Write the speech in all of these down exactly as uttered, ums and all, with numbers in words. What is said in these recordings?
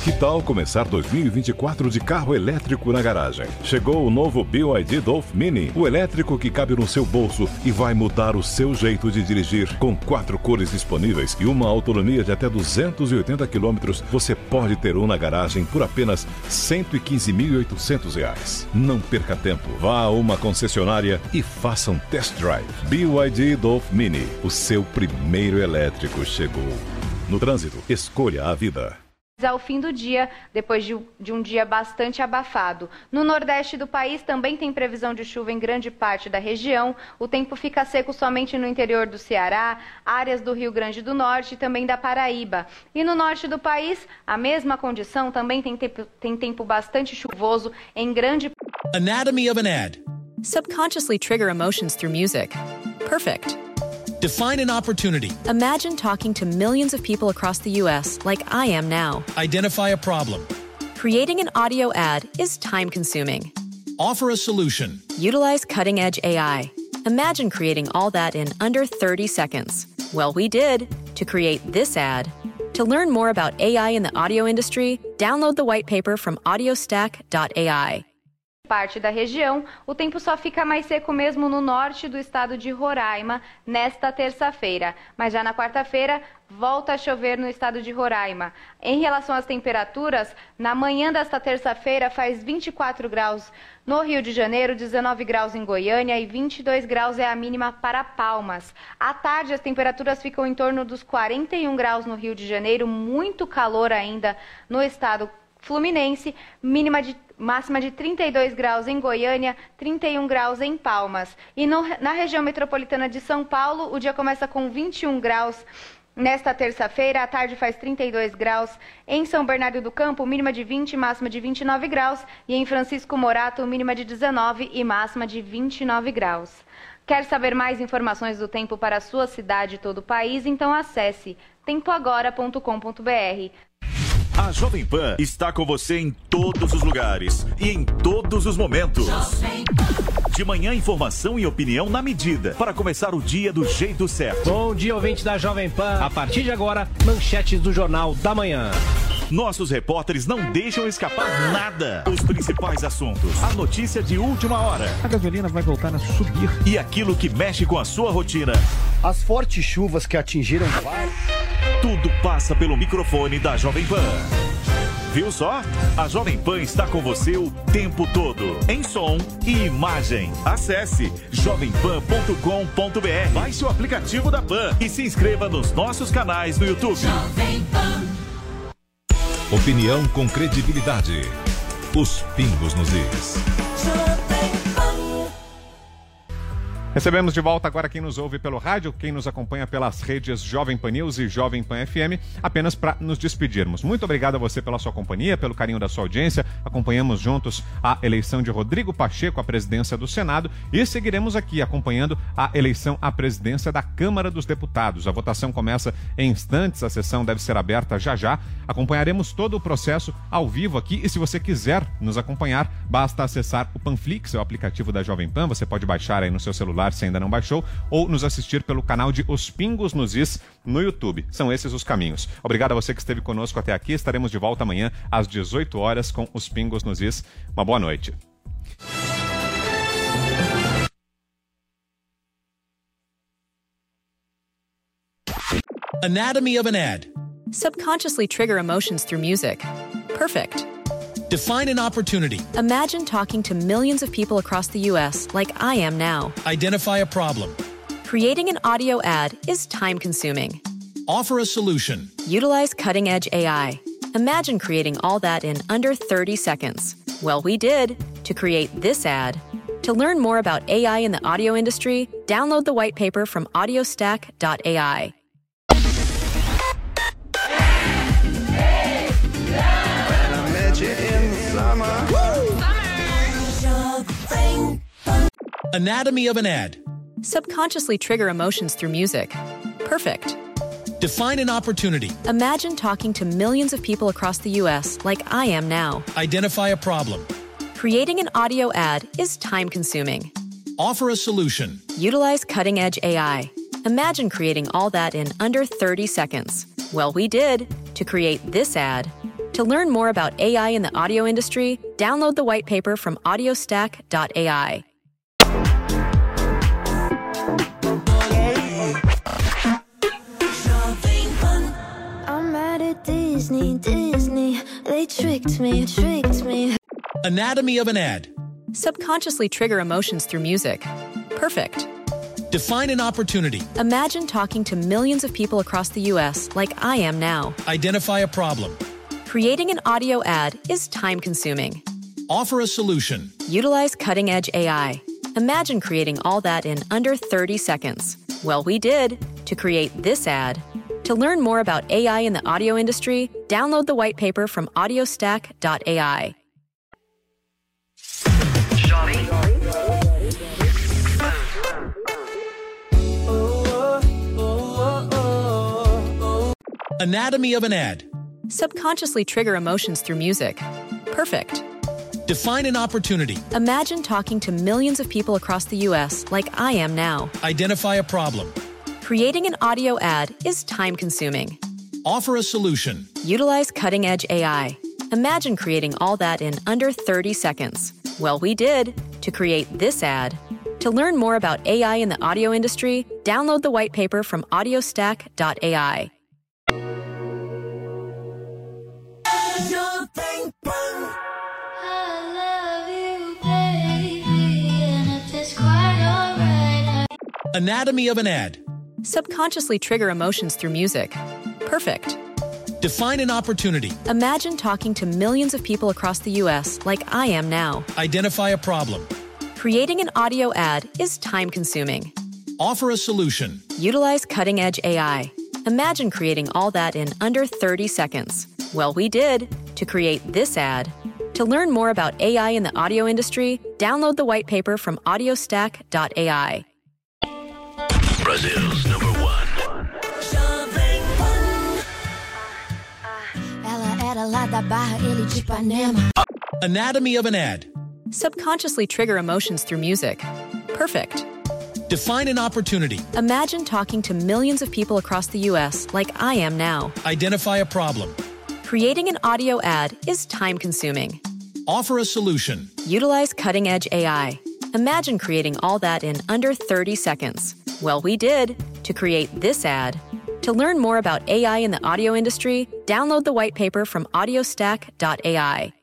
Que tal começar dois mil e vinte e quatro de carro elétrico na garagem? Chegou o novo B Y D Dolph Mini, o elétrico que cabe no seu bolso e vai mudar o seu jeito de dirigir. Com quatro cores disponíveis e uma autonomia de até duzentos e oitenta quilômetros, você pode ter um na garagem por apenas cento e quinze mil e oitocentos reais. Não perca tempo, vá a uma concessionária e faça um test drive. B Y D Dolph Mini, o seu primeiro elétrico chegou. No trânsito, escolha a vida. Ao fim do dia, depois de, de um dia bastante abafado. No nordeste do país também tem previsão de chuva em grande parte da região. O tempo fica seco somente no interior do Ceará, áreas do Rio Grande do Norte e também da Paraíba. E no norte do país, a mesma condição, também tem tempo, tem tempo bastante chuvoso em grande... Anatomy of an ad. Subconsciously trigger emotions through music. Perfect. Define an opportunity. Imagine talking to millions of people across the U S like I am now. Identify a problem. Creating an audio ad is time-consuming. Offer a solution. Utilize cutting-edge A I. Imagine creating all that in under thirty seconds. Well, we did to create this ad. To learn more about A I in the audio industry, download the white paper from audiostack dot A I. Parte da região, o tempo só fica mais seco mesmo no norte do estado de Roraima nesta terça-feira. Mas já na quarta-feira, volta a chover no estado de Roraima. Em relação às temperaturas, na manhã desta terça-feira faz vinte e quatro graus no Rio de Janeiro, dezenove graus em Goiânia e vinte e dois graus é a mínima para Palmas. À tarde, as temperaturas ficam em torno dos quarenta e um graus no Rio de Janeiro, muito calor ainda no estado fluminense, mínima de, máxima de trinta e dois graus em Goiânia, trinta e um graus em Palmas. E no, na região metropolitana de São Paulo, o dia começa com vinte e um graus nesta terça-feira, à tarde faz trinta e dois graus. Em São Bernardo do Campo, mínima de vinte, máxima de vinte e nove graus. E em Francisco Morato, mínima de dezenove e máxima de vinte e nove graus. Quer saber mais informações do tempo para a sua cidade e todo o país? Então acesse tempo agora ponto com ponto br. A Jovem Pan está com você em todos os lugares e em todos os momentos. De manhã, informação e opinião na medida, para começar o dia do jeito certo. Bom dia, ouvinte da Jovem Pan. A partir de agora, manchetes do Jornal da Manhã. Nossos repórteres não deixam escapar nada. Os principais assuntos, a notícia de última hora. A gasolina vai voltar a subir. E aquilo que mexe com a sua rotina. As fortes chuvas que atingiram... Tudo passa pelo microfone da Jovem Pan. Viu só? A Jovem Pan está com você o tempo todo, em som e imagem. Acesse jovem pan ponto com ponto br. Baixe o aplicativo da Pan e se inscreva nos nossos canais no YouTube. Jovem Pan. Opinião com credibilidade. Os pingos nos is. Recebemos de volta agora quem nos ouve pelo rádio, quem nos acompanha pelas redes Jovem Pan News e Jovem Pan F M, apenas para nos despedirmos. Muito obrigado a você pela sua companhia, pelo carinho da sua audiência. Acompanhamos juntos a eleição de Rodrigo Pacheco à presidência do Senado e seguiremos aqui acompanhando a eleição à presidência da Câmara dos Deputados. A votação começa em instantes, a sessão deve ser aberta já já. Acompanharemos todo o processo ao vivo aqui e se você quiser nos acompanhar, basta acessar o Panflix, é o aplicativo da Jovem Pan. Você pode baixar aí no seu celular se ainda não baixou, ou nos assistir pelo canal de Os Pingos nos Is no YouTube. São esses os caminhos. Obrigado a você que esteve conosco até aqui. Estaremos de volta amanhã às dezoito horas com Os Pingos nos Is. Uma boa noite. Anatomy of an ad. Subconsciously trigger emotions through music. Perfect. Define an opportunity. Imagine talking to millions of people across the U S like I am now. Identify a problem. Creating an audio ad is time-consuming. Offer a solution. Utilize cutting-edge A I. Imagine creating all that in under thirty seconds. Well, we did to create this ad. To learn more about A I in the audio industry, download the white paper from audiostack dot A I. Anatomy of an ad. Subconsciously trigger emotions through music. Perfect. Define an opportunity. Imagine talking to millions of people across the U S like I am now. Identify a problem. Creating an audio ad is time-consuming. Offer a solution. Utilize cutting-edge A I. Imagine creating all that in under thirty seconds. Well, we did to create this ad. To learn more about A I in the audio industry, download the white paper from audiostack dot A I. I'm mad at Disney, Disney. They tricked me, tricked me. Anatomy of an ad. Subconsciously trigger emotions through music. Perfect. Define an opportunity. Imagine talking to millions of people across the U S like I am now. Identify a problem. Creating an audio ad is time-consuming. Offer a solution. Utilize cutting-edge A I. Imagine creating all that in under thirty seconds. Well, we did to create this ad. To learn more about A I in the audio industry, download the white paper from audiostack dot A I. Anatomy of an ad. Subconsciously trigger emotions through music. Perfect. Define an opportunity. Imagine talking to millions of people across the U S like I am now. Identify a problem. Creating an audio ad is time-consuming. Offer a solution. Utilize cutting-edge A I. Imagine creating all that in under thirty seconds. Well, we did to create this ad. To learn more about A I in the audio industry, download the white paper from audiostack dot A I. Anatomy of an ad. Subconsciously trigger emotions through music. Perfect. Define an opportunity. Imagine talking to millions of people across the U S like I am now. Identify a problem. Creating an audio ad is time-consuming. Offer a solution. Utilize cutting-edge A I. Imagine creating all that in under thirty seconds. Well, we did to create this ad. To learn more about A I in the audio industry, download the white paper from audiostack dot A I. Brazil's number one. Ela era lá da Barra, ele de Ipanema. Anatomy of an ad. Subconsciously trigger emotions through music. Perfect. Define an opportunity. Imagine talking to millions of people across the U S like I am now. Identify a problem. Creating an audio ad is time-consuming. Offer a solution. Utilize cutting-edge A I. Imagine creating all that in under thirty seconds. Well, we did to create this ad. To learn more about A I in the audio industry, download the white paper from audiostack dot A I.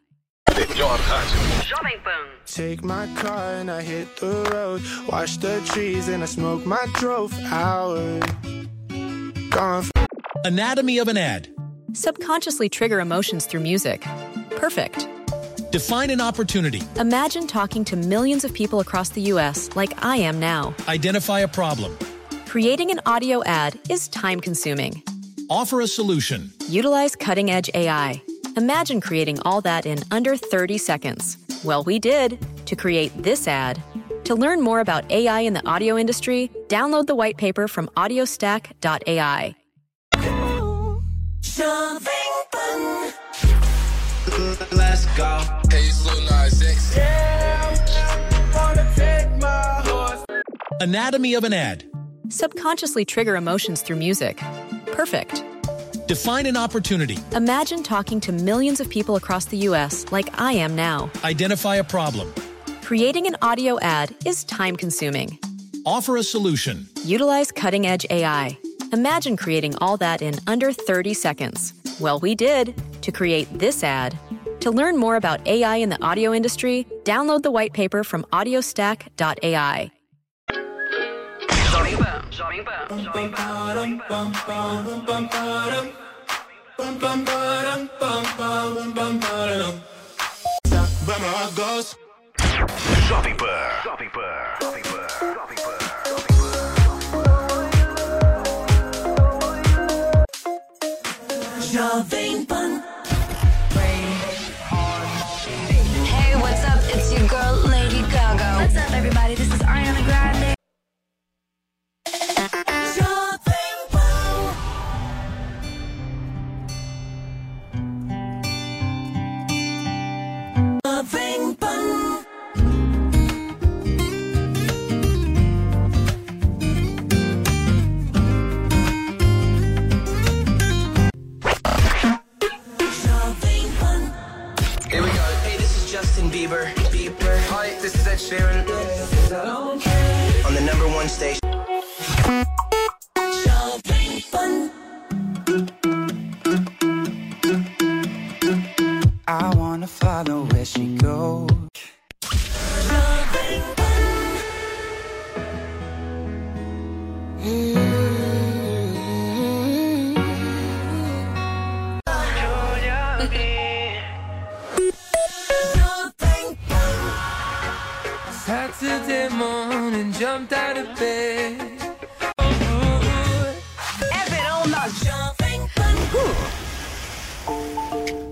Take my car and I hit the road. Watch the trees and I smoke my drove hours. Gone. Anatomy of an ad. Subconsciously trigger emotions through music. Perfect. Define an opportunity. Imagine talking to millions of people across the U S like I am now. Identify a problem. Creating an audio ad is time-consuming. Offer a solution. Utilize cutting-edge A I. Imagine creating all that in under thirty seconds. Well, we did to create this ad. To learn more about A I in the audio industry, download the white paper from audiostack dot A I. Let's go. Hey, so nice. Anatomy of an ad. Subconsciously trigger emotions through music. Perfect. Define an opportunity. Imagine talking to millions of people across the U S like I am now. Identify a problem. Creating an audio ad is time-consuming. Offer a solution. Utilize cutting-edge A I. Imagine creating all that in under thirty seconds. Well, we did to create this ad. To learn more about A I in the audio industry, download the white paper from audiostack dot A I. Jovem Pan. Jovem Pan. Jovem Pan. Jovem Pan. Jovem Pan. Hey, what's up? It's your girl, Lady Gaga. What's up, everybody? This is Ariana Grande. Justin Bieber, Bieber. Hi, this is Ed Sheeran. On the number one station. I wanna follow where she goes. Saturday morning, jumped out of bed. É verão na Jovem Pan.